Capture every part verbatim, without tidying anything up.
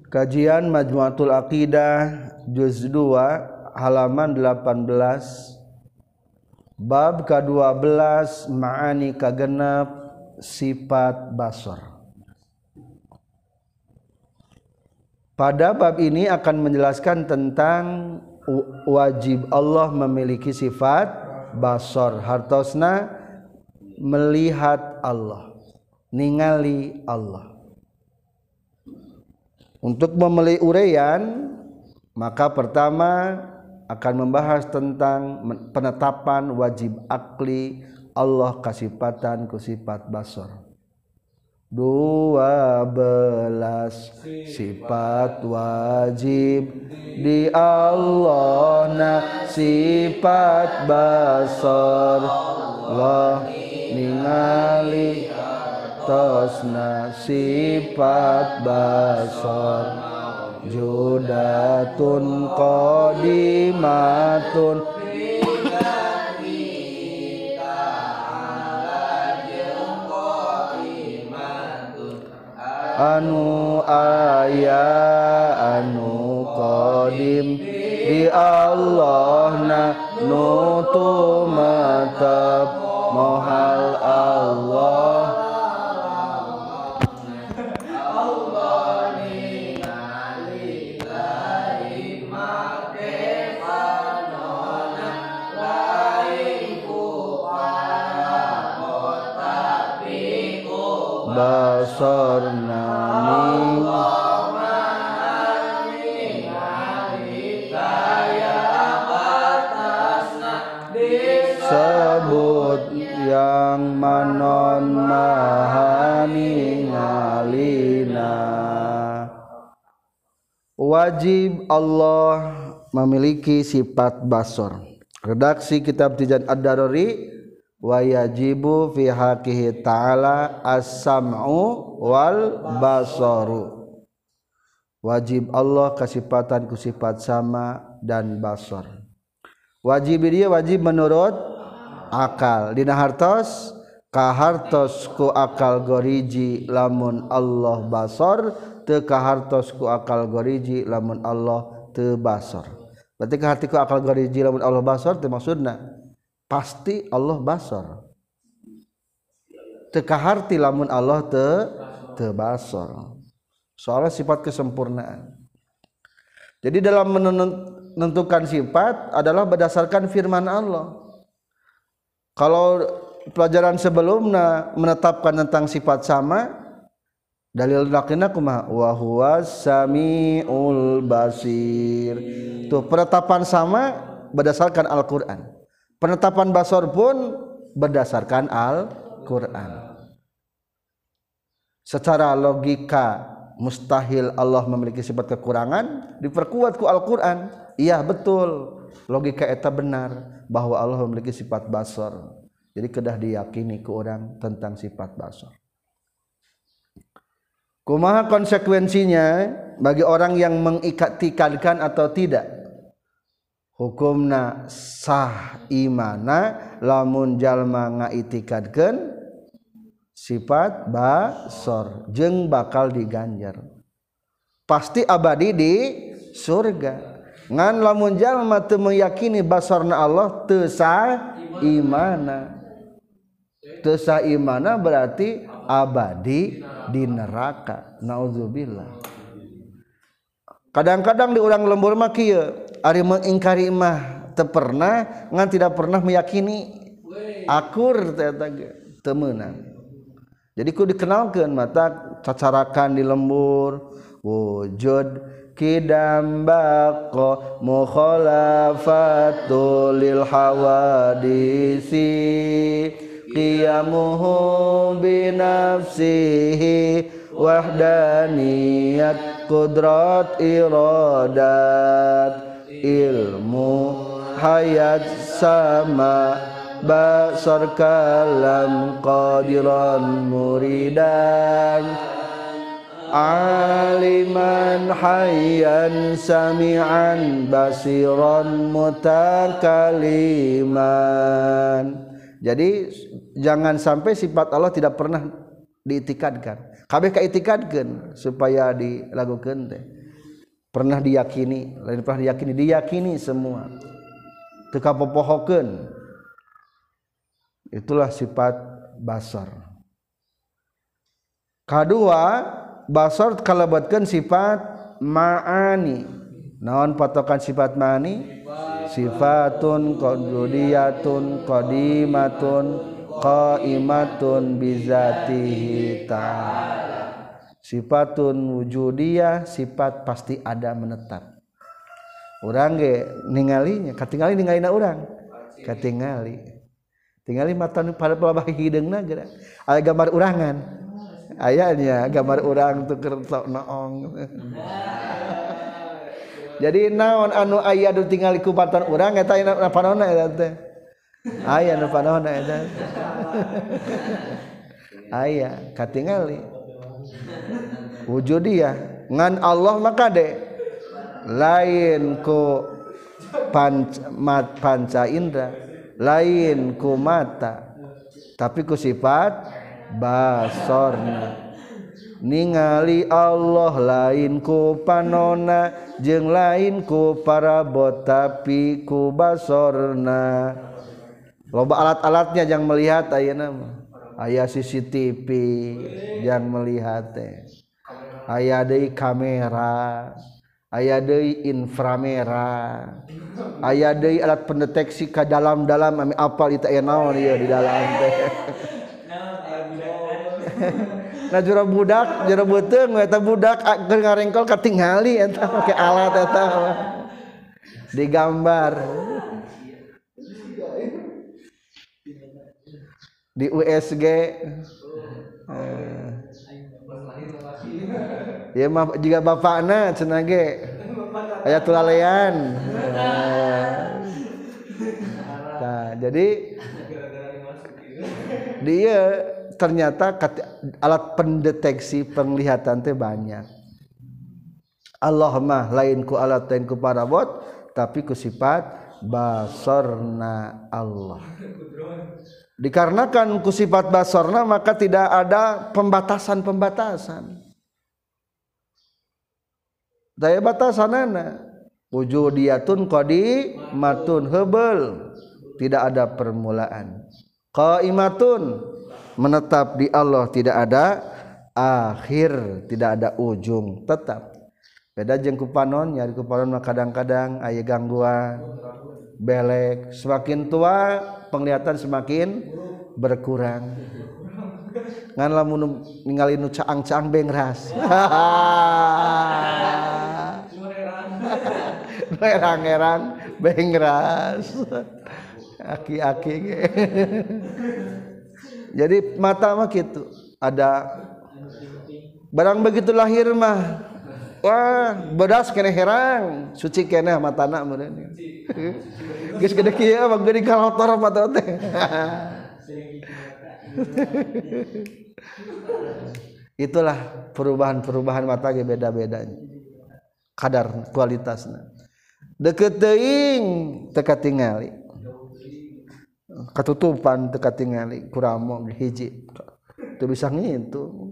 Kajian Majmu'atul Aqidah juz dua halaman delapan belas, bab ka dua belas ma'ani kagenep sifat basar. Pada bab ini akan menjelaskan tentang wajib Allah memiliki sifat basar, hartosna melihat Allah, ningali Allah. Untuk memulai uraian, maka pertama akan membahas tentang penetapan wajib akli Allah kasifatan ku sifat basar. Dua belas sifat wajib di Allah, na sifat basar Allah ningali tosna sifat basar judatun qadimatun anu aya anu qadim di Allahna nutu matab mohal Allah basarna sebut yang manon mahani ngalina. Wajib Allah memiliki sifat basar. Redaksi kitab Tijan Ad-Daruri, wa yajibu fi haqqihi ta'ala as-sam'u wal basaru. Wajib Allah kasifatan ku sifat sama dan basar. Wajib dia wajib menurut akal. Dina hartos ka hartos ku akal goriji lamun Allah basar, teu ka hartos ku akal goriji lamun Allah teu basar. Berarti ka harti ku akal goriji lamun Allah basar teu maksudna pasti Allah basar. Teu kaharti lamun Allah teu teu basar. Soalnya sifat kesempurnaan. Jadi dalam menentukan sifat adalah berdasarkan firman Allah. Kalau pelajaran sebelumnya menetapkan tentang sifat sama, dalil lakina kumaha wa huwas samiul basir. Tuh penetapan sama berdasarkan Al-Qur'an. Penetapan basar pun berdasarkan Al-Quran. Secara logika mustahil Allah memiliki sifat kekurangan, diperkuat ku Al-Quran. Iya betul, logika eta benar bahwa Allah memiliki sifat basar. Jadi kedah diyakini ku orang tentang sifat basar. Kumaha konsekuensinya bagi orang yang mengiktikadkan atau tidak? Hukumna sah imana lamun jalma ngaitikadkeun sifat basar jeung bakal diganjar pasti abadi di surga. Ngan lamun jalma teu meyakini basarna Allah teu sah imana, teu sah imana berarti abadi di neraka. Naudzubillah. Kadang-kadang di urang lembur mah kieu ari mengingkari mah teu pernah ngan tidak pernah meyakini akur eta ge teu meunang. Jadi ku dikenalkeun mata cacarakan di lembur wujud kidam baqa mukhalafatul lil hawadisi qiyamuhu bi nafsihi wahdaniyat qudrat iradat ilmu hayat sama basar kalam qadiran muridan aliman hayyan sami'an basiran mutakaliman. Jadi jangan sampai sifat Allah tidak pernah diitikadkan. Kabeh kaitikadkeun supaya dilagukeun teh. pernah diyakini, lain pernah diyakini, diyakini semua. Teu kapopohokeun. Itulah sifat basar. Kadua, basar kalabatkeun sifat ma'ani. Naon patokan sifat ma'ani? Sifatun qadudiyatun qadimatun qaimatun bizatihi ta'ala. Sifatun wujudiyah, sifat pasti ada menetap. Urang ge ningalinya, katingali ningalina urang. Katingali. Tingali mata nu pada pelabah hideungna geura. Aya gambar urangan. Ayanya gambar urang teu keur noong. Jadi naon anu aya nu tingali ku patan urang eta aya panonna eta teh. Aya nu panonna eta. Aya katingali. Wujudiyah ngan Allah maka de lain ku panca, mat, panca indra, lain ku mata, tapi ku sifat basorna. Ningali Allah lain ku panona jeung lain ku parabot tapi ku basorna. Loba alat-alatnya yang melihat ayeuna mah. Aya C C T V yang melihat teh. Aya deui kamera, aya deui inframerah, aya deui alat pendeteksi ka dalam-dalam ami apal itu aya naon ieu di dalam teh. Nah jura budak, jura beuteung eta budak keur ngarengkol katingali eta make alat eta digambar. Di U S G ya mah juga bapakna cenah ge aya tulalean. Nah, jadi dia ternyata alat pendeteksi penglihatan teh banyak. Allah mah lain ku alat lain ku parabot tapi ku sifat basarna Allah. Dikarenakan ku sifat basarna maka tidak ada pembatasan-pembatasan. Daya batasanana wujudiyatun qadimatun heubeul, tidak ada permulaan. Qaimatun menetap di Allah, tidak ada akhir, tidak ada ujung, tetap. Beda jeung ku panon, nyari ku panon mah kadang-kadang aya gangguan, belek, semakin tua penglihatan semakin berkurang. Ngan lamun ningali nu caang-caang bengras. Erang-erang bengras. Aki-aki ge. Jadi mata mah kitu, ada barang begitu lahir mah wah bedas keneh herang, suci keneh matana meureun. Geus gede kieu mah geuning kalotor mata teh. Itulah perubahan-perubahan mata ge beda-bedanya. Kadar kualitasna. Deukeut teuing teu katingali. Katutupan teu katingali kuramo hiji. Teu bisa ngitu.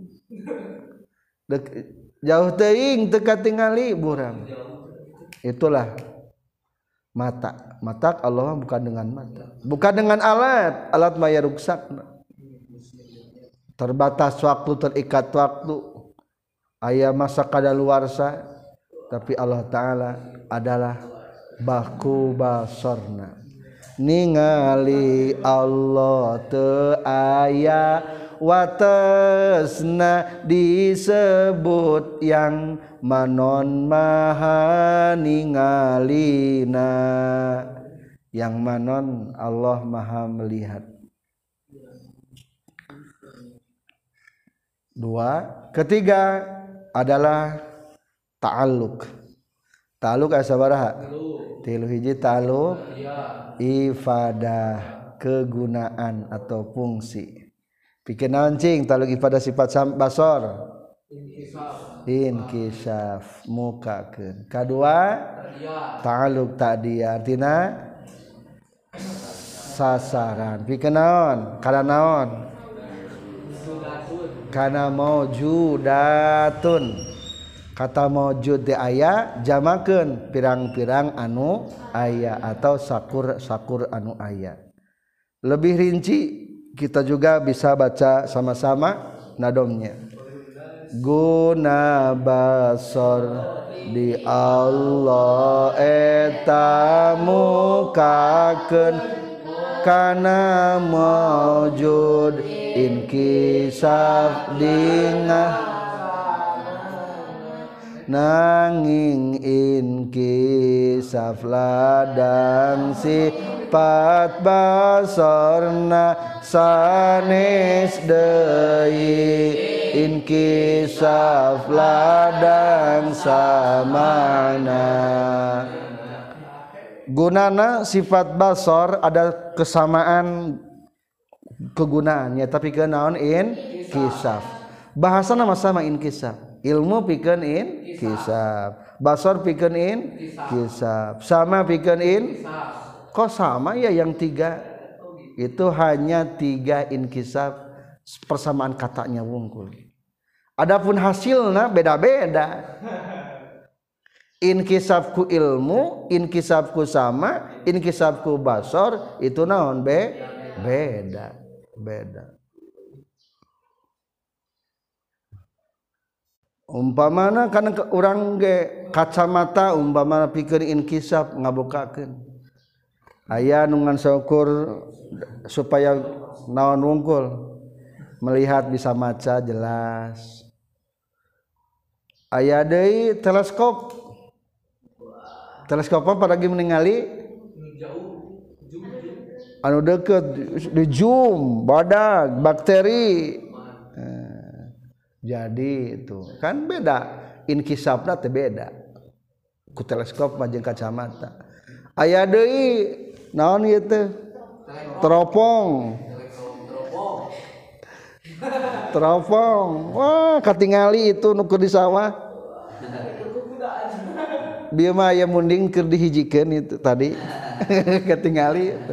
Jauh teuing teu katingali buram. Itulah mata. Mata Allah bukan dengan mata. Bukan dengan alat. Alat maya ruksakna. Terbatas waktu, terikat waktu. Aya masa kadaluarsa. Tapi Allah Ta'ala adalah baku basarna. Ningali Allah teu aya watesna disebut yang manon maha ningalina. Yang manon Allah maha melihat. Dua. Ketiga adalah ta'alluq. Ta'alluq aya sabaraha? Tilu hiji ta'alluq ifadah, kegunaan atau fungsi. Pikeun naon cing ta'alluq ifadah sifat basar? Inkisaf, mukakeun. Kadua ta'alluq ta'diyah, artina sasaran. Pikeun naon? Kana naon? Kana maujudatun. kata maujud teh aya jamakeun pirang-pirang anu aya atau sakur-sakur anu aya. Lebih rinci kita juga bisa baca sama-sama nadomnya. Guna basor di Allah eta mukakeun kana maujud inkisaf dingah nanging inkisaf ladang sifat basorna sanes deui inkisaf ladang samana. Gunana sifat basor ada kesamaan kegunaannya tapi kenaon inkisaf bahasana sama inkisaf. Ilmu pikeun inkisaf, basor pikeun inkisaf, sama pikeun in. Kok sama ya yang tiga? Itu hanya tiga inkisaf persamaan katanya wungkul. Adapun hasilnya beda-beda. Inkisafku ilmu, inkisafku sama, inkisafku basor itu naon be? Beda, beda. Umpamana kana urang ge kacamata umpamana pikeun inkisaf ngabukakeun aya nu ngan saukur supaya naon wungkul melihat bisa maca jelas. Aya deui teleskop teleskop apa lagi meningali anu deukeut di zoom badag bakteri. Jadi itu kan beda inkisafna teh beda ku teleskop jeung kacamata. Aya deui naon ieu teh teropong teropong wah katingali itu nu keur di sawah bieu mah aya munding keur dihijikeun itu tadi katingali itu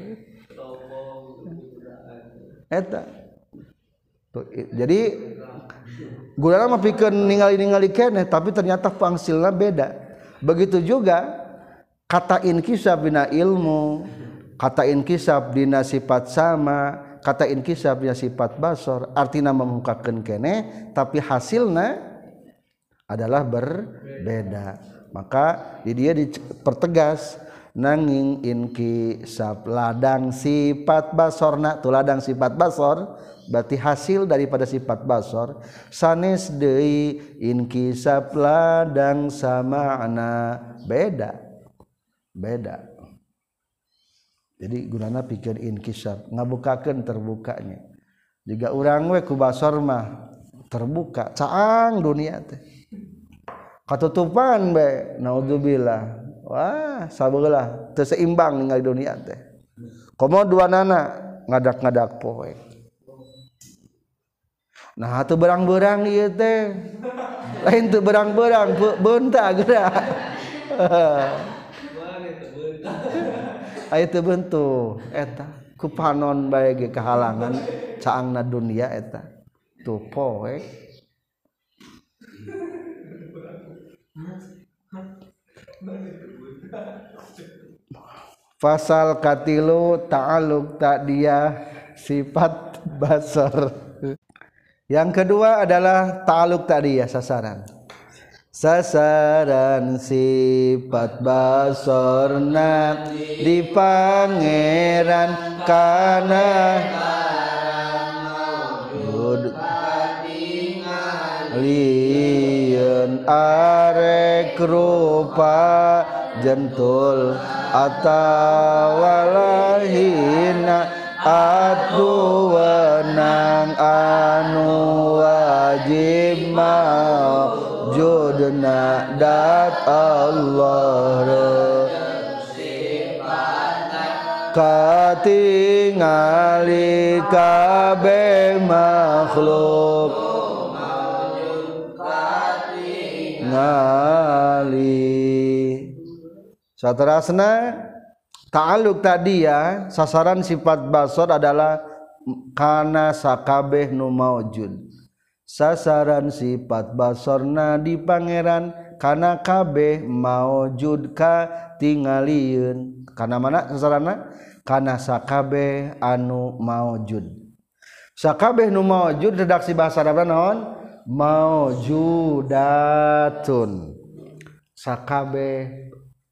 eta tuh, jadi guna mah pikeun ningali-ningali keneh tapi ternyata pangsilna beda. Begitu juga kata inkisaf dina ilmu, kata inkisaf dina sifat sama, kata inkisaf dina sifat basor, artina memukakeun keneh tapi hasilna adalah berbeda. Maka di dia dipertegas nanging inkisaf ladang sifat basorna, tu ladang sifat basor berarti hasil daripada sifat basor sanes deui inkisaf ladang samana beda beda. Jadi gunana pikeun inkisaf ngabukakeun terbukanya. Jiga urang we ku basor mah terbuka caang dunia teh katutupan be naudzubillah wah sabeula teu seimbang ningali dunia teh komo duanana ngadak-ngadak poe. Nah atuh berang-berang ieu teh lain teu berang-berang beunta geura aya teu beuntu eta ku panon bae ge kahalangan caangna dunia eta tuh poe. Fasal katilu ta'alluq ta'diyah sifat basar. Yang kedua adalah ta'alluq ta'diyah sasaran. Sasaran sifat basorna di pangeran kana liun arek rupa jentul atawalahina atu wenang anu wajib maujudna dat Allah katingali kabeh makhluk ngali. Saterasna ta'alluq ta'diyah sasaran sifat basor adalah kana sakabeh nu maujud sasaran sifat basorna di pangeran kana kabeh maujud ka tingalieun kana mana sasaranna kana sakabeh anu maujud sakabeh nu maujud redaksi bahasa Arab naon maujudatun sakabeh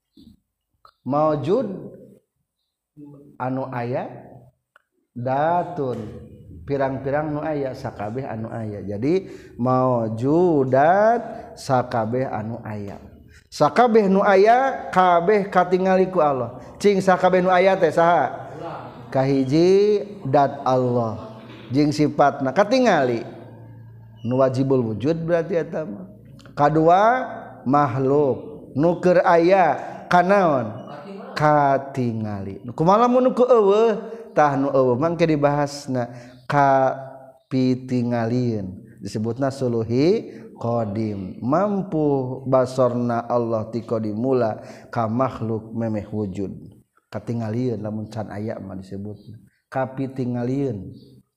maujud anu aya datun pirang-pirang nu aya sakabeh anu aya jadi maujudat sakabeh anu aya sakabeh nu aya kabeh katingali ku Allah cing sakabeh nu aya teh saha kahiji dat Allah jeung sifatna katingali nu wajibul wujud berarti eta mah kadua makhluk nu keur aya kanaon katingali kumaha mun ku eueuh tah nu eueuh mangke dibahasna kapitingalieun disebutna suluhi qadim mampu basorna Allah ti qadimula ka makhluk memeh wujud katingalieun lamun can aya mah disebutna kapitingalieun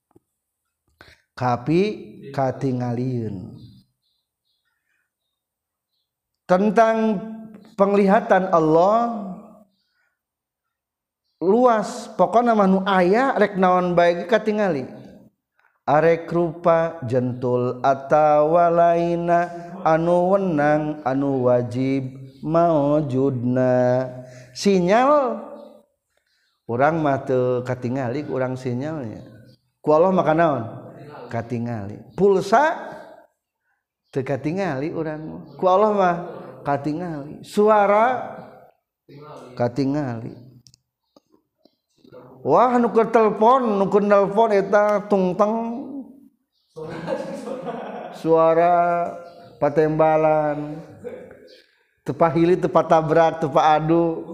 kapi katingalieun tentang penglihatan Allah luas pokokna mah nu aya rek naon bae katingali arek rupa jentul atawa laina anu wenang anu wajib maujudna sinyal urang mah teu katingali urang sinyalnya ku Allah mah kanaon katingali pulsa teu katingali urang ku Allah mah katingali suara katingali wah nu keur telepon nu keur nelpon eta tungteng suara patembalan teu pahili teu patabrak teu paadu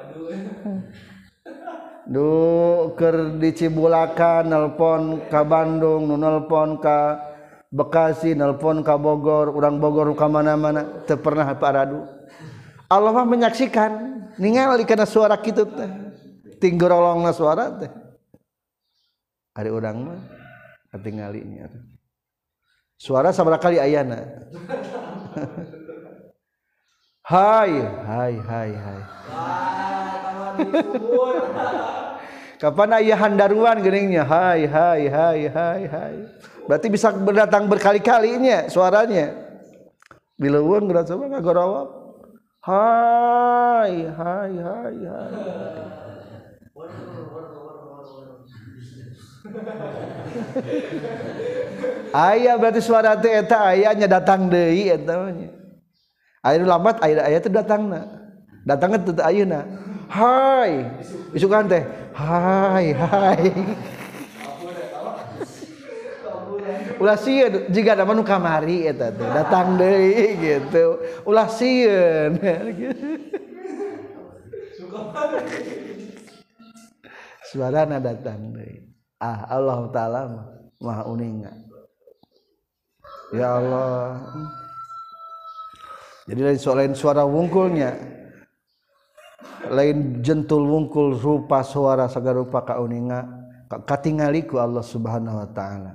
du keur di Cibulakan nelpon ka Bandung nu nelpon ka Bekasi nelpon ka Bogor urang Bogor ka mana-mana teu pernah paadu Allah mah menyaksikan ningali kana suara kitu teh tinggorolongna suara teh ari urang mah katingalinya suara sabaraha kali ayana hai hai hai hai kapan aya handaruan geuningsnya hai hai hai hai hai berarti bisa berdatang berkali-kalinya suaranya bileuweung geura coba ngagorowok hai hai hai hai aya berarti suara teh eta ayanya datang deui eta nya aya lambat aya aya teh datangna datangna teh ayeuna hai isukan teh hai hai ulah sieun jiga da nu kamari eta teh datang deui gitu ulah sieun suarana datang deui ah Allah taala maha uninga ya Allah jadi lain lain suara wungkulnya lain jentul wungkul rupa suara sagarupa kauninga katingali ku Allah Subhanahu wa taala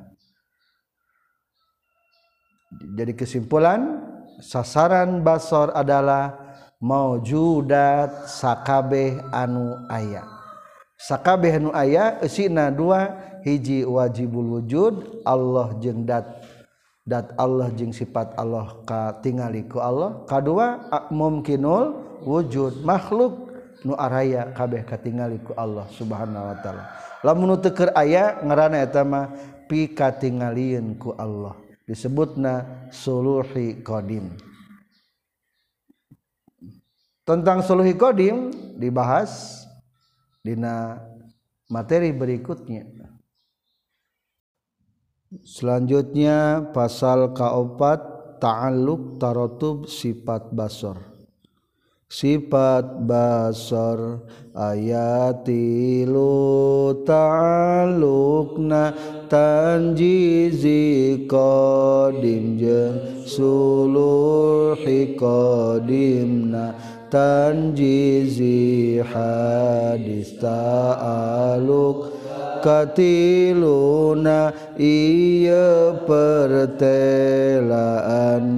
jadi kesimpulan sasaran basor adalah maujudat sakabeh anu aya sakabeh anu aya eusina dua hiji wajibul wujud Allah jeung dat dat Allah jeung sifat Allah katingali ku Allah kadua mumkinul wujud makhluk nu araya kabeh katingali ku Allah Subhanahu wa taala lamun teu keur aya ngaranna eta mah pikatingalieun ku Allah disebutna suluhi qadim tentang suluhi qadim dibahas dina materi berikutnya. Selanjutnya pasal kaopat ta'alluq taratub sifat basor. Sifat basor ayatilu ta'alluqna tanjizi qadim jeung suluhi qadimna tanjizi hadis ta'alluq katiluna ieu pertelaan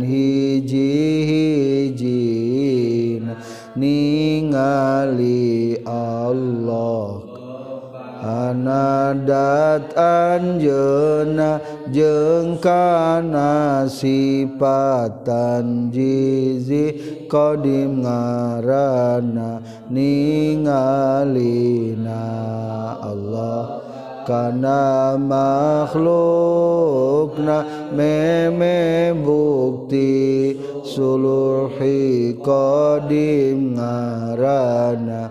hiji-hijina ningali Allah anadat anjeunna jeung kana sifatan jizi qadim ngaranna ningalina Allah kana makhlukna meme bukti suluhi qadim ngaranna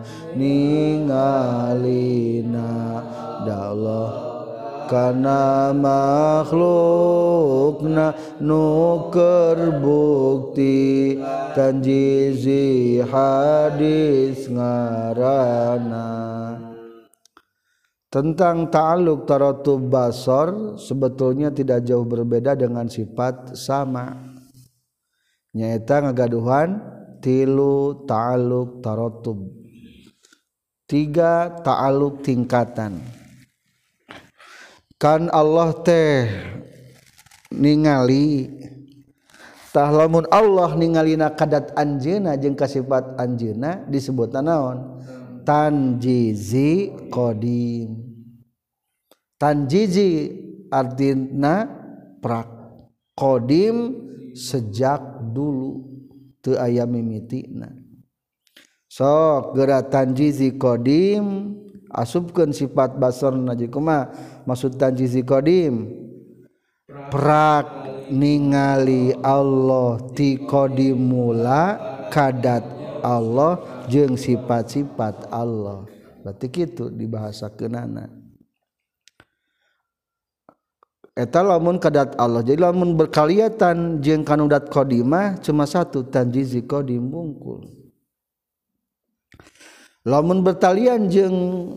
ningalina da Allah kana makhlukna nuker bukti tanjizi hadis ngaranna. Tentang ta'alluq taratub basar sebetulnya tidak jauh berbeda dengan sifat sama. Nyaeta ngagaduhan tilu ta'alluq taratub. Tiga ta'alluq tingkatan. Kan Allah teh ningali tah lamun Allah ningalina kadat anjeunna jeung ka sifat anjeunna disebutna naon? Tanjizi qadim. Tanjizi artina prak, qadim sejak dulu teu aya mimitina. Sok geura tanjizi qadim asupkeun sifat basarna jeung kumaha maksud tanjizi qadim? Prak ningali Allah ti qadim mula kadat Allah jeung sifat-sifat Allah. Berarti kitu dibahasakeunana. Eta lamun kadat Allah. Jadi lamun berkaliatan jeung kanudat qadimah cuma satu tanjizi qadim bungkul. Lamun bertalian jeung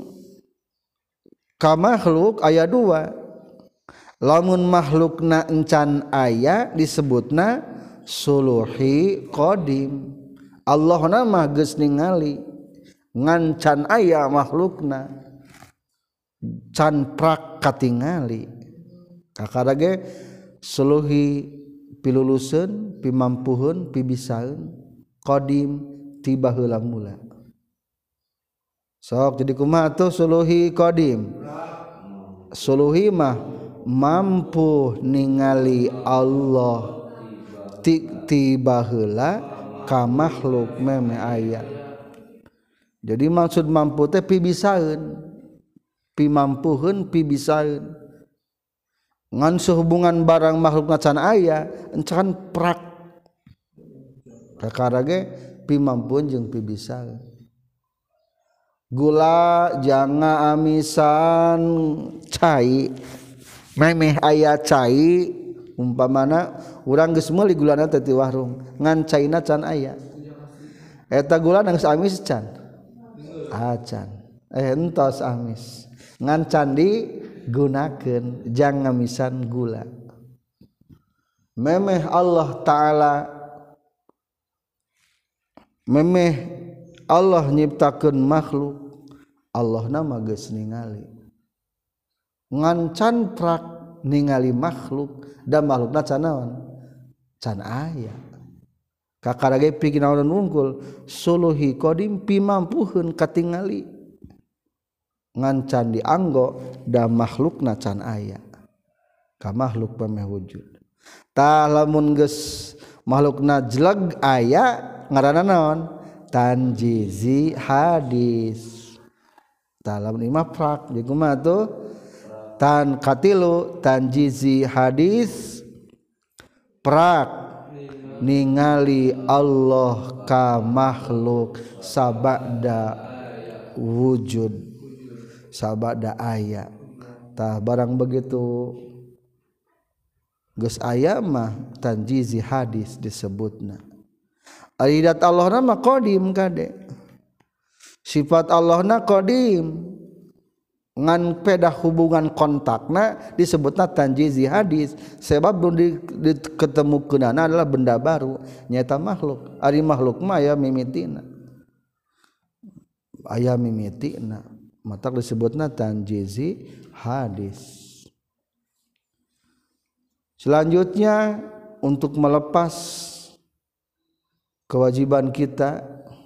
ka makhluk aya dua. Lamun makhlukna encan aya disebutna suluhi qadim. Allahna mah geus ningali ngan can aya makhlukna can prak katingali. Kakara ge suluhi piluluseun pimampuheun pibisaeun qadim tiba heula mula. Sok jadi kumaha tuh suluhi qadim? Suluhi mah mampu ningali Allah tiba heula ka makhluk meme aya. Jadi maksud mampu teh pibisaeun pimampuheun pibisaeun ngan sehubungan barang makhluk can aya encan prak kakara ge pimampuan jeung pibisaeun. Gula janga amisan cai memeh aya cai umpamana urang geus meuli gulana teh ti warung ngan caina can aya eta gula geus amis can acan eh entos amis ngan can digunakeun jang ngamisan gula. Memeh Allah Ta'ala memeh Allah nyiptakeun makhluk Allah nama geus ningali ngan can prak ningali makhluk da makhlukna can naon can aya kakara ge pikeun naon unggul suluhi qadim pimampuheun katingali ngan can dianggo da makhlukna can aya ka makhluk pameh wujud. Tah lamun geus makhlukna jeleg aya ngaranna naon tanjizi hadis. Tah lamun imah prak jeung kumaha tuh tan katilu tanjizi hadis prak ningali Allah ka makhluk sabada wujud sabada aya. Tah barang begitu geus aya mah tanjizi hadis disebutna. Aridat Allahna mah qadim kade. Sifat Allahna qadim. Ngan pedah hubungan kontakna disebutna tanjizi hadis sebab belum diketemukeunana adalah benda baru nyata makhluk. Ari makhluk mah aya mimitina. Aya mimitina. Mata disebutna tanjizi hadis. Selanjutnya untuk melepas kewajiban kita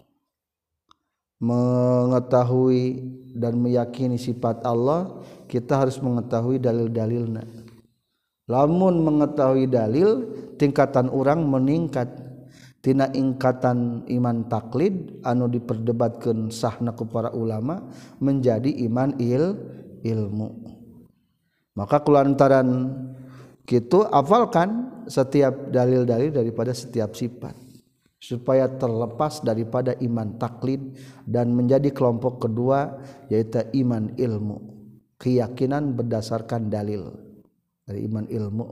mengetahui dan meyakini sifat Allah, kita harus mengetahui dalil-dalilna. Lamun mengetahui dalil, tingkatan orang meningkat tina ingkatan iman taklid anu diperdebatkeun sahna ku para ulama menjadi iman il ilmu. Maka kulantaran kitu hafalkan setiap dalil-dalil daripada setiap sifat supaya terlepas daripada iman taklid dan menjadi kelompok kedua yaitu iman ilmu, keyakinan berdasarkan dalil dari iman ilmu.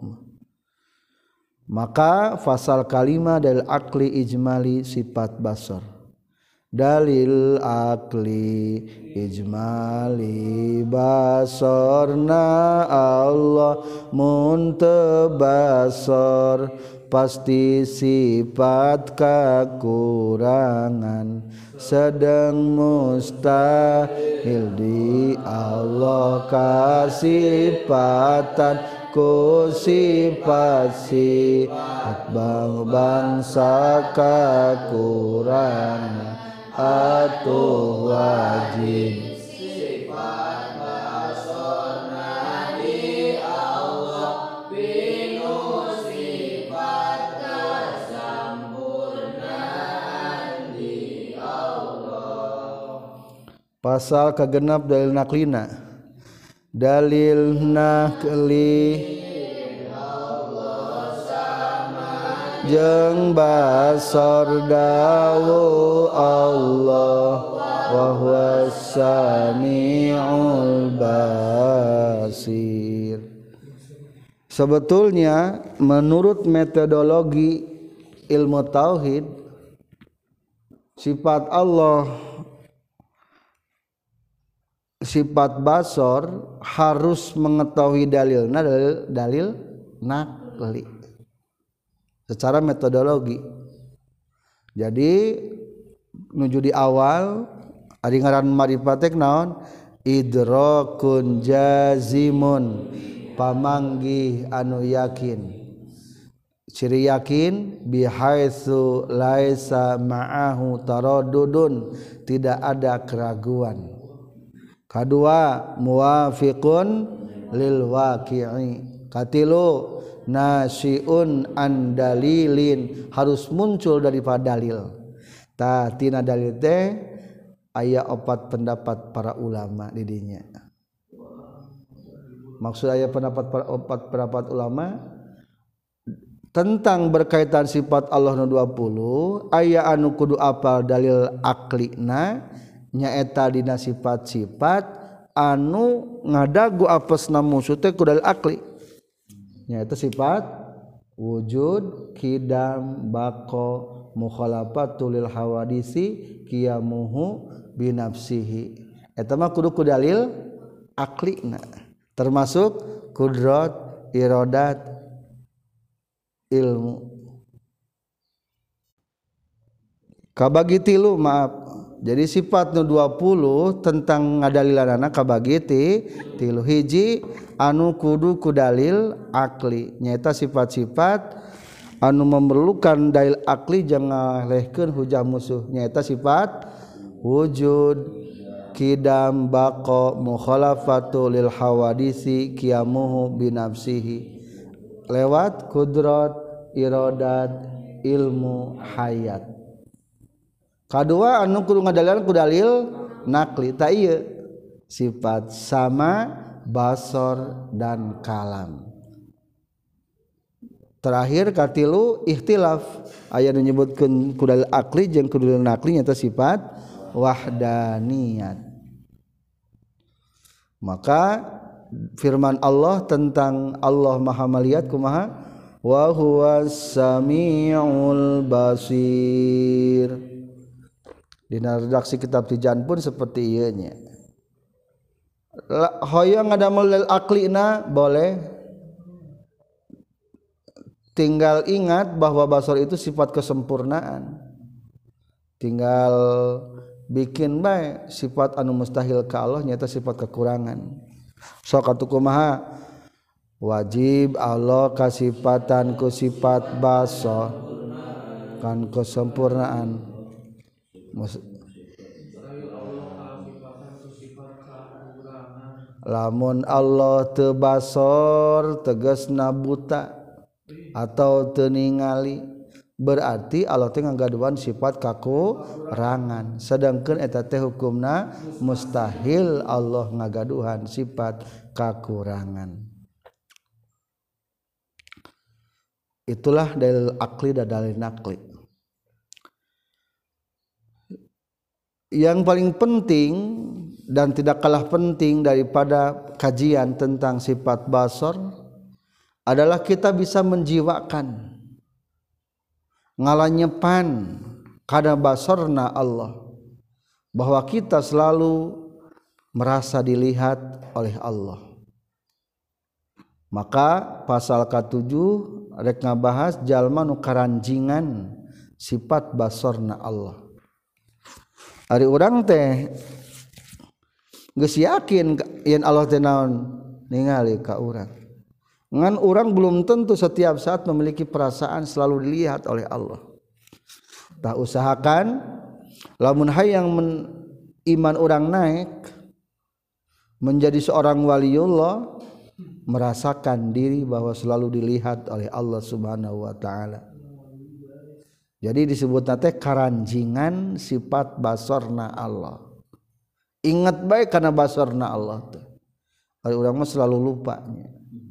Maka fasal kalima dalil akli ijmali sifat basar. Dalil akli ijmali basarna Allah muntebasar pasti sifat kekurangan sedang mustahil di Allah kasifatan ku sifat sifat bang bangsa kekurangan atuh wajib sifat basorna di Allah binu sifat kesempurnaan di Allah. Pasal kagenap dalil naklina. Dalil nakli jeung basar dawu Allah wa huwas samiul basir. Sebetulnya menurut metodologi ilmu tauhid sifat Allah sifat basar harus mengetahui dalilna dalil, dalil nakli secara metodologi. Jadi nuju di awal ari ngaran marifatek naon idrakun jazimun pamanggih anu yakin. Ciri yakin bihaitsu laisa ma'ahu taraddudun tidak ada keraguan. Kedua muwafiqun lil waqi'i. Katilu nasiun an dalilin harus muncul daripada dalil. Ta tina dalil teh aya opat pendapat para ulama di dinya. Maksud aya pendapat para opat pendapat ulama tentang berkaitan sifat Allah nu dua puluh aya anu kudu apal dalil aklina nyaeta dina sifat-sifat anu ngadagu apesna musuh teh ku dalil akli. Yaitu sifat wujud, kidam, bako, mukhalafatul lil hawadisi, qiyamuhu binafsihi. Eta mah kudu ku dalil aklina. Termasuk kudrat, iradat, ilmu. Kabagi tilu maaf. Jadi sifat nu dua puluh tentang ngadalilanana kabagi tilu hiji anu kudu ku dalil akli nyaeta sifat-sifat anu memerlukan dalil akli jangan ngalehkeun hujah musuh nyaeta sifat wujud, kidam, baqa, mukhalafatu lil hawadisi, qiyamuhu binafsihi lewat kudrat, iradat, ilmu, hayat. Kadua anu kudu ngadalilan ku dalil nakli ta ieu sifat sama, basar dan kalam. Terakhir katilu ikhtilaf aya nu nyebutkeun ku dalil akli jeung ku dalil nakli nyaeta sifat wahdaniyat. Maka firman Allah tentang Allah Maha melihat kumaha wa huwas samiul basir. Dina redaksi kitab Tijan pun seperti ieu nya. Hoyong ngadamel lil aklina boleh, tinggal ingat bahwa basar itu sifat kesempurnaan. Tinggal bikin bae sifat anu mustahil ka Allah nyata sifat kekurangan. sok atuh kumaha wajib Allah kasifatan ku sifat basar kan kesempurnaan lamun Allah teu basor tegasna buta atau teu ningali berarti Allah teh ngagaduhan sifat kakurangan sedangkeun eta teh hukumna mustahil Allah ngagaduhan sifat kakurangan. Itulah dalil akli dan dalil nakli. Yang paling penting dan tidak kalah penting daripada kajian tentang sifat basar adalah kita bisa menjiwakan ngalanyepan kana basarna Allah bahwa kita selalu merasa dilihat oleh Allah. Maka pasal ketujuh rek ngabahas jalma nu karanjingan sifat basarna Allah. Ari urang teh geus yakin yen Allah teh naon ningali ka urang. Ngan urang belum tentu setiap saat memiliki perasaan selalu dilihat oleh Allah. Tah usahakan lamun hayang men, iman urang naik menjadi seorang waliullah merasakan diri bahwa selalu dilihat oleh Allah Subhanahu wa taala. Jadi disebutna teh karanjingan sifat basarna Allah. Ingat baik karena basarna Allah teh. Ari urang mah selalu lupanya.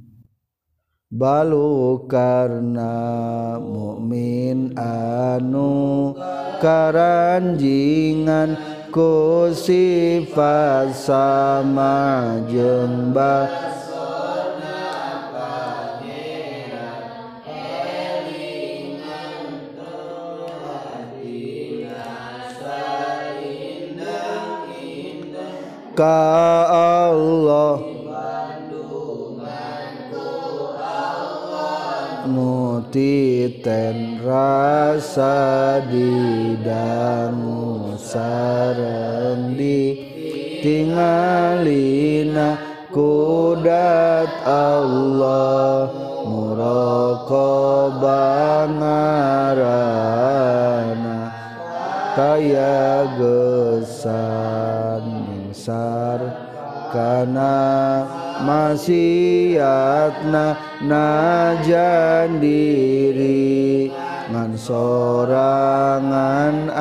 Balu karna mukmin anu karanjingan ku sifat sama jeung ka Allah nutiten rasa didangu sareng ditingalina kudat Allah muraqabah ngarana kaya gesan sar kana maksiatna najan diri ngan sorangan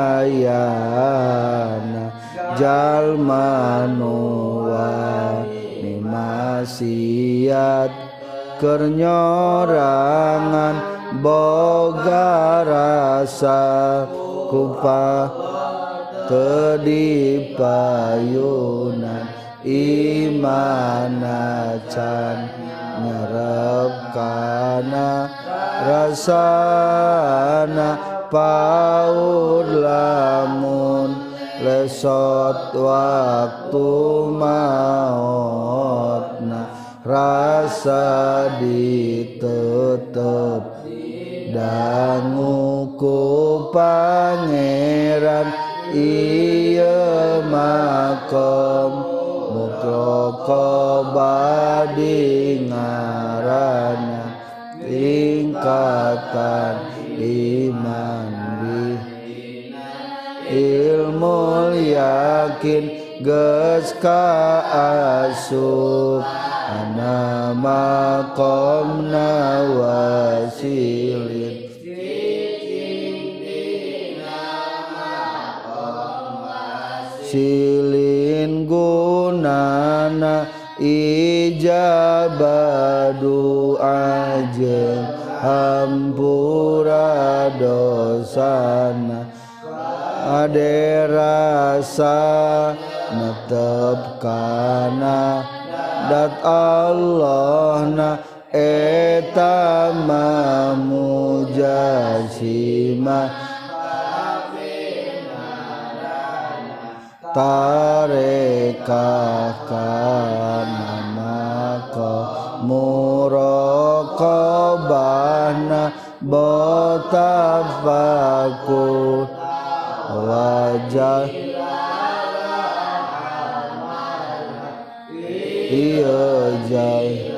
ayana jalma nu wani maksiat keur nyorangan boga rasa kupa kedipayunan imana can nyerep kana rasana paud lamun lesot waktu mautna rasa ditetep dangu ku pangeran iya makom mukraqabah dingarana tingkatan iman di ilmu yakin geus kaasup ana maqamna wasilin silin gunana ijabah doa jeung hampura dosana ade rasa netep kana dat Allahna eta mamujasimah tarekah kana maka muraqabahna botafakur wajah ieu jai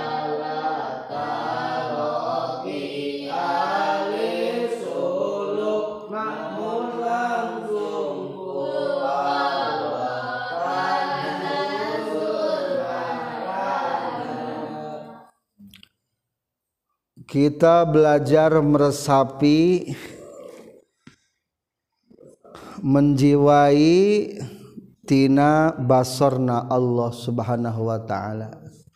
kita belajar meresapi, menjiwai tina basorna Allah subhanahu wa ta'ala.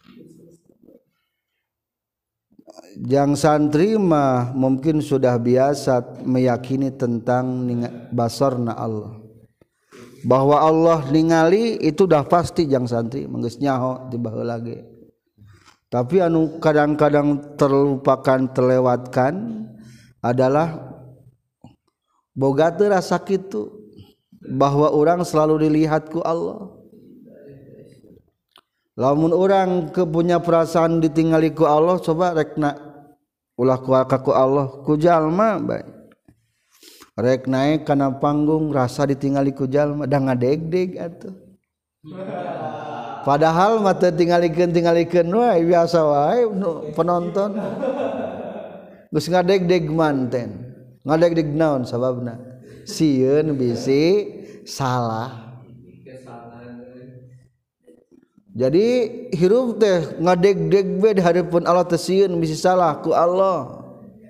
Jang santri mah mungkin sudah biasa meyakini tentang basorna Allah, bahwa Allah ningali itu dah pasti. Jang santri menggeus nyaho di baheula lagi. Tapi anu kadang-kadang terlupakan, terlewatkan adalah boga teu rasa kitu, bahwa orang selalu dilihat ku Allah. Lamun orang kepunya perasaan ditinggali ku Allah, coba rekna ulah ku ku Allah ku jalma bae. Rek naik kana panggung rasa ditinggali ku jalma da ngadeg-deg atuh. Padahal mata tingalikeun tingalikeun wae biasa wae penonton. Geus ngadeg-deg manten. Ngadeg-deg naon sababna? Sieun bisi salah. Jadi hirup teh ngadeg-deg we di hareupeun Allah teh sieun bisi salah ku Allah.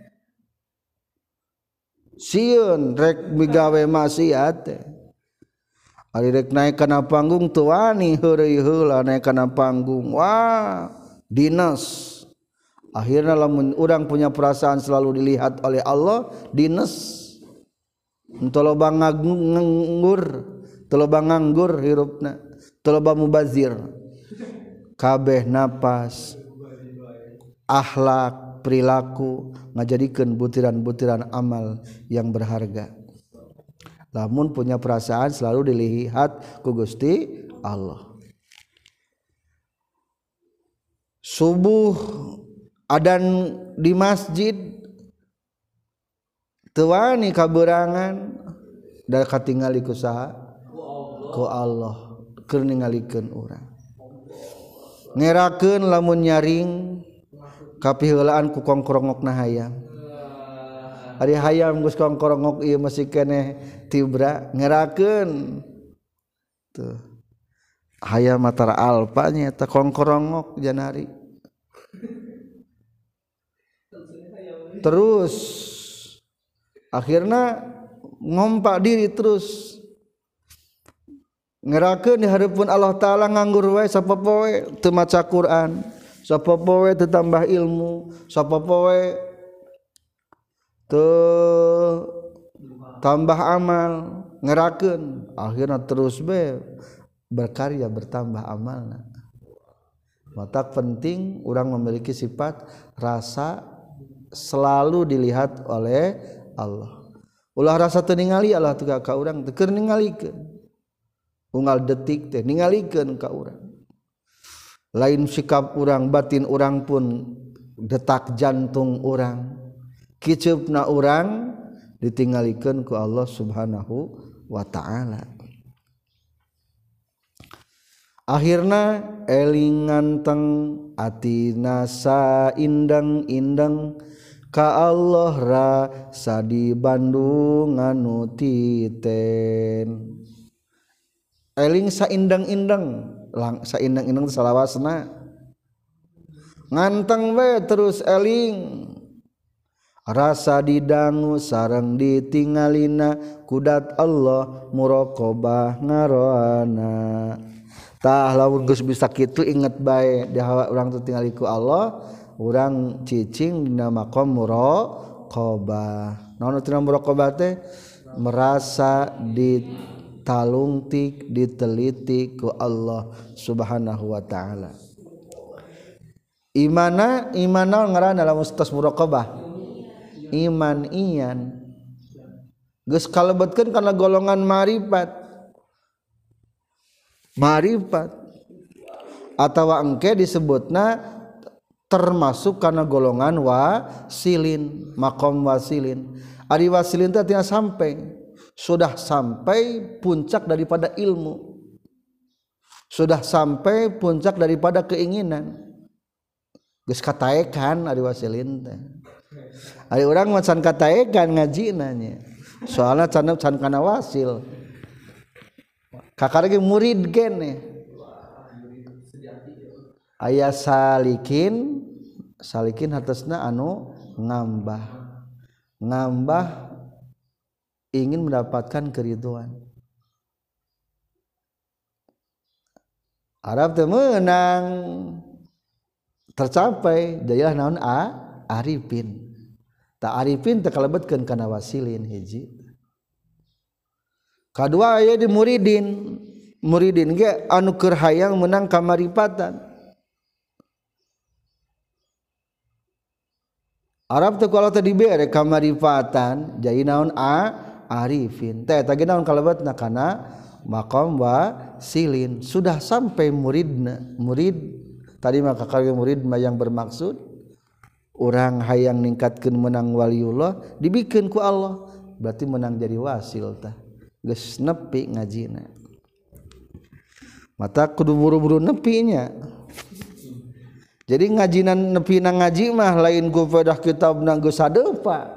Sieun rek migawe maksiat teh. Ari rek naik kana panggung teu wani heureuy heula naik kana panggung. Wah, dinas. Akhirnya lamun urang punya perasaan selalu dilihat oleh Allah, dinas. Teu loba nganggur, teu loba nganggur hirupna, teu loba mubazir. Kabeh napas, akhlak, perilaku ngajadikeun butiran-butiran amal yang berharga. Lamun punya perasaan selalu dilihat ku Gusti Allah. Subuh adan di masjid teu wani kaberangan da katingali ku saha? Ku Allah. Keur ningalikeun urang. Ngerakeun lamun nyaring kapiheulaan ku kongkorongokna hayam. Ari hayam geus kongkorongok ieu masih keneh tibra ngerakeun tuh hayam matara alpa nya eta kongkorongok janari. Terus akhirna ngompak diri terus ngerakeun di hareupeun Allah taala nganggur wae sapopoe teu maca Quran, sapopoe teu tambah ilmu, sapopoe teu tambah amal, ngerakeun akhirna terus be berkarya bertambah amalna. Mata penting orang memiliki sifat rasa selalu dilihat oleh Allah. Ulah rasa teu ningali Allah teu ka urang teu keur ningalikeun. Unggal detik teh ningalikeun ka urang. Lain sikap urang, batin urang pun detak jantung urang. Kiceupna urang ditinggalikeun ku Allah Subhanahu wa taala. Akhirna elingan teng atina saindang-indang ka Allah rasa di Bandung anu titen. Eling saindang-indang, lang saindang-indang salawasna. Nganteng we terus eling. Rasa didangu sareng ditingalina kudat Allah muraqabah ngaroana. Tah lamun geus bisa kitu inget bae di hawa urang teu tingali ku Allah, urang cicing dina maqam muraqabah. Naon tina muraqabah teh? Merasa ditalungtik, diteliti ku Allah Subhanahu wa taala. Imana imana ngaranna lamun tos muraqabah. Iman iyan geus kalebetkeun kana golongan ma'rifat. Ma'rifat atawa engke disebutna termasuk kana golongan wasilin, maqam wasilin. Ari wasilin teh artinya sampai, sudah sampai puncak daripada ilmu, sudah sampai puncak daripada keinginan geus kataekan ari wasilin teh ari urang mah can kataekan ngajina nya soalna can can kana wasil kakara ge murid kene aya salikin salikin hartosna anu ngambah ngambah ingin mendapatkan keridhaan Arab teh menang tercapai jadilah naon a arifin tak arifin teh kalebetkeun kana wasilin hiji kadua aya di muridin muridin ge anu keur hayang menang kamaripatan Arab teh kalau teh dibere kamaripatan jadi naon a arifin teh eta ge naon kalebetna kana maqam wasilin sudah sampai muridna murid tadi maka kakak murid mah yang bermaksud orang hayang ningkatkeun menang waliullah dibikeun ku Allah berarti menang jadi wasil tah geus nepi ngajina mata kudu buru-buru nepinya jadi ngajinan nepi na ngaji mah lain ku faedah kitab na geus sadepa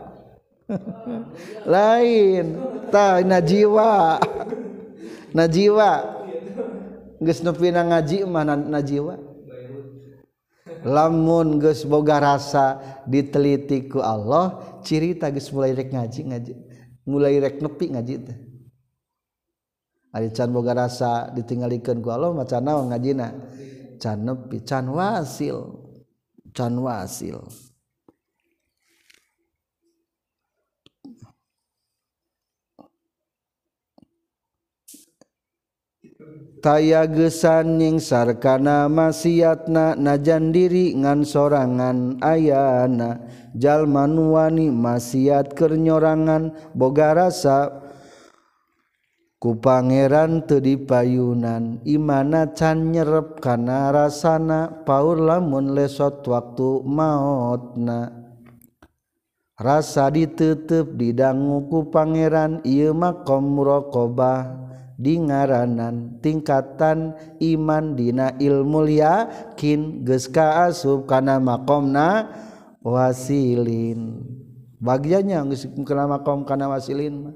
lain tah najiwa najiwa geus nepi na ngaji mah najiwa lamun geus boga rasa diteliti ku Allah ciri tah geus mulai rek ngaji ngaji mulai rek nepi ngaji teh ari can boga rasa ditinggalikeun ku Allah macan naon ngajina can nepi can wasil can wasil taya gesan nyingsar kana maksiatna najan diri ngan sorangan ayana jalma nu wani maksiat keur nyorangan boga rasa ku pangeran teu dipayunan imana can nyerep kana rasana paur lamun lesot waktu maotna rasa diteuteup didangu ku pangeran ieu maqam muraqabah di ngaranan tingkatan iman dina ilmu yakin geus kaasup kana maqamna wasilin bagiannya geus kana maqam kana wasilin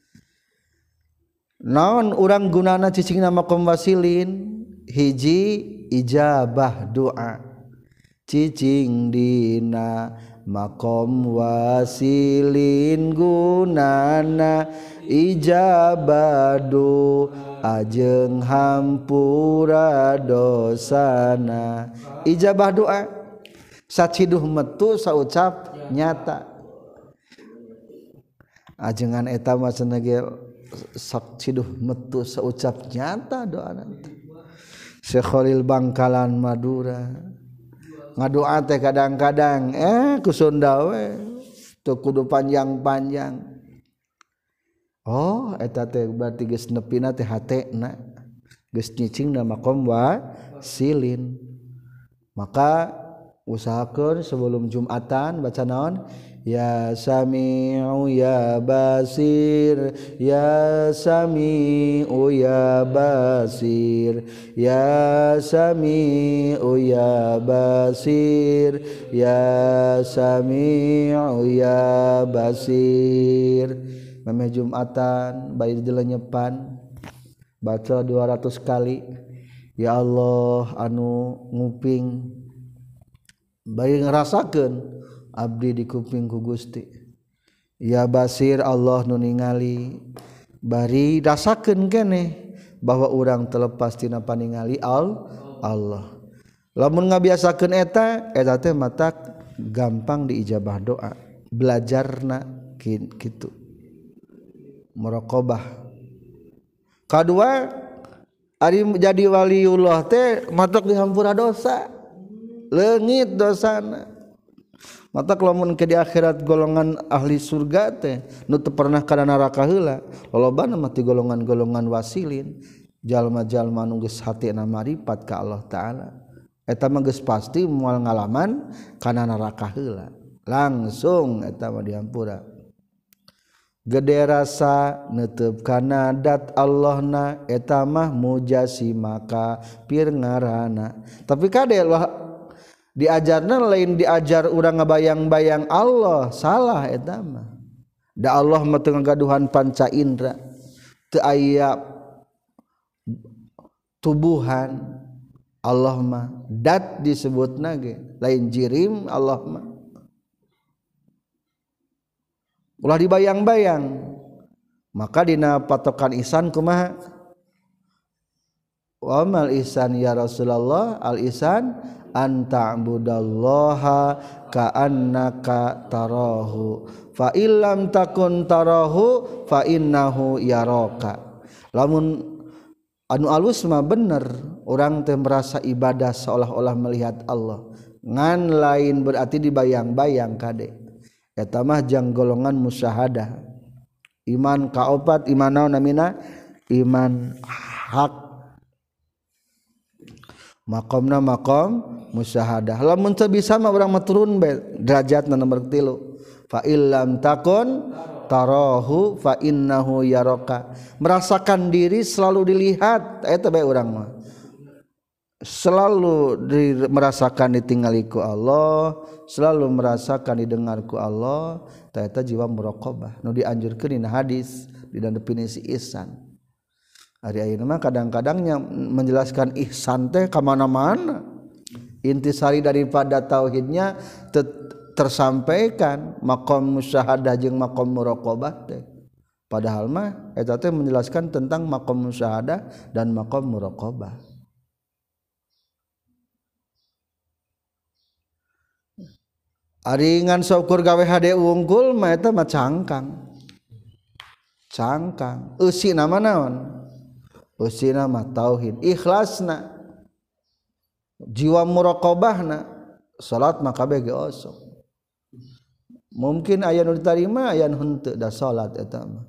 naon urang gunana cicingna maqam wasilin hiji ijabah doa cicing dina maqam wasilin gunana ijabah doa jeung hampura dosana ijabah doa saciduh metu saucap nyata ajengan eta mah cenah saciduh metu saucap nyata doa nanti Syekh Khalil Bangkalan Madura ngadoa teh kadang-kadang eh ku Sunda we teu kudu panjang-panjang oh eta teh berarti geus nepina teh hatena geus nyicingna maqam wasilin maka usahakeun sebelum Jumatan baca naon ya sami'u ya basir ya sami'u ya basir ya sami'u ya basir ya sami'u ya basir meme Jumatan bayi dilenyepan baca dua ratus kali ya Allah anu nguping bayi ngerasakeun abdi di kuping ku Gusti ya basir Allah nu ningali bari rasakeun keneh bahwa urang terlepas tina paningali Allah lamun ngabiasakeun eta eta teh mata gampang diijabah doa belajarna kitu muraqabah kadua ari jadi waliullah teh matok dihampura dosa leungit dosana mata lamun ke di akhirat golongan ahli surga teh nu teu pernah kana neraka heula lolobana mah ti golongan-golongan wasilin jalma-jalma nu geus hatina maripat ka Allah taala eta mah geus pasti moal ngalaman kana neraka heula langsung eta mah dihampura gede rasa neuteup kana dat Allahna eta mah mujasimaka pir ngaranna. Tapi kade diajarna lain diajar urang ngabayang-bayang Allah, salah eta mah. Da Allah mah teu ngagaduhan panca indra, teu aya tubuhan. Allah mah dat disebutna ge, lain jirim Allah mah. Ulah dibayang-bayang, maka dina patokan ihsan kumaha? Wa mal ihsan ya Rasulullah, al ihsan an ta'budallaha ka'annaka tarahu fa illam takun tarahu fa innahu yaraka. Lamun anu alus mah bener, urang teh merasa ibadah seolah-olah melihat Allah. Ngan lain berarti dibayang-bayang kade. Eta mah jang golongan musyahadah. Iman kaopat iman naon namina? Iman hak. Maqamna maqam musyahadah. Lamun teu bisa mah urang mah turun bae derajatna nomor tilu. Fa illam takun tarahu fa innahu yaraka. Merasakan diri selalu dilihat, eta bae urang mah. Selalu di, merasakan ditinggali ku Allah, selalu merasakan didengar ku Allah, eta jiwa muraqabah nu dianjurkeun dina hadis di dalam definisi ihsan. Ari ayeuna mah kadang-kadangnya menjelaskan ihsan teh ka mana-mana. Intisari daripada tauhidnya ter, tersampaikan maqam musyahadah jeung maqam muraqabah teh. Padahal mah eta teh menjelaskan tentang maqam musyahadah dan maqam muraqabah. Ari ngan syukur gawe hade unggul mah eta mah cangkang. Cangkang. Eusina mah naon? Eusina mah tauhid, ikhlasna. Jiwa muraqabahna. Salat mah kabeh ge osok. Mungkin aya nu ditarima, aya nu henteu da salat eta mah.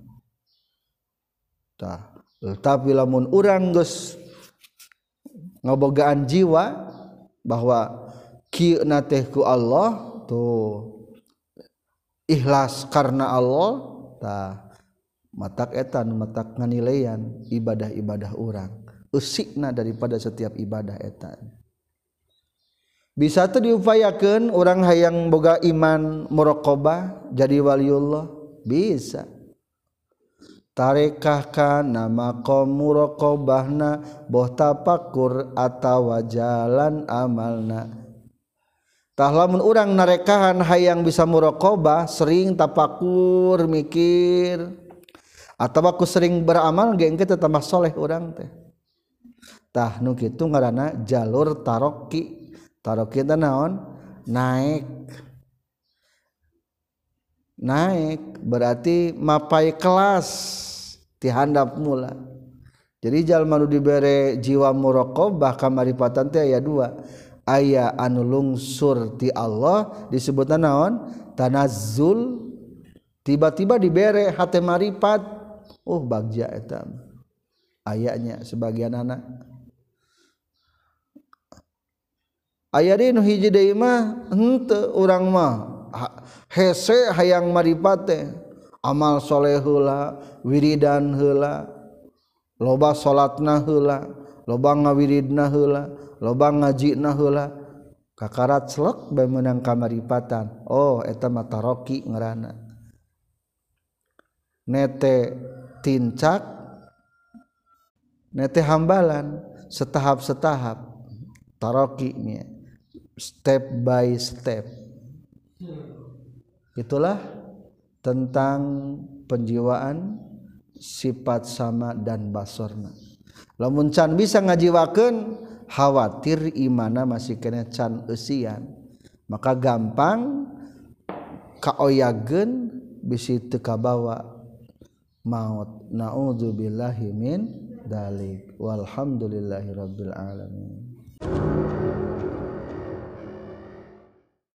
Tah, tapi lamun urang geus ngabogaan jiwa bahwa kieu na teh ku Allah tuh ikhlas karena Allah, tah matak eta nu matak nganilaian ibadah-ibadah urang, eusikna daripada setiap ibadah eta. Bisa teh diupayakeun urang hayang boga iman muraqabah jadi waliullah, bisa. Tarekah kana maqam muraqabahna boh tapakur atawa jalan amalna. Tah lamun urang narekahan hayang bisa muraqabah, sering tapakur mikir atawa ku sering beramal ge engke teh tambah soleh urang teh. Tah nu kitu ngaranna jalur taroki. Taroki teh naon? Naik. Naik berarti mapai kelas ti handap mula. Jadi jalma nu dibere jiwa muraqabah kamaripatan teh aya dua. Aya anu lungsur ti Allah disebutna naon? Tanazzul. Tiba-tiba dibere hate maripat. Oh bagja eta. Ayanya sebagian anak. Aya deui nu hiji deui mah henteu urang mah hese hayang maripat teh, amal soleh heula, wiridan heula, loba salatna heula, loba ngawiridna heula, loba ngajina heula, kakarat slek bae meunang kamaripatan. Oh eta mah taroki ngaranna. Nete tincak, nete hambalan setahap-setahap taroki nya. Step by step. Itulah tentang penjiwaan sifat sama dan basorna. Lamun can bisa ngajiwakeun, khawatir imana masih kena can eusian, maka gampang kaoyageun bisi teu kabawa maut. Naudzubillahi min dzalik. Walhamdulillahirabbil alamin.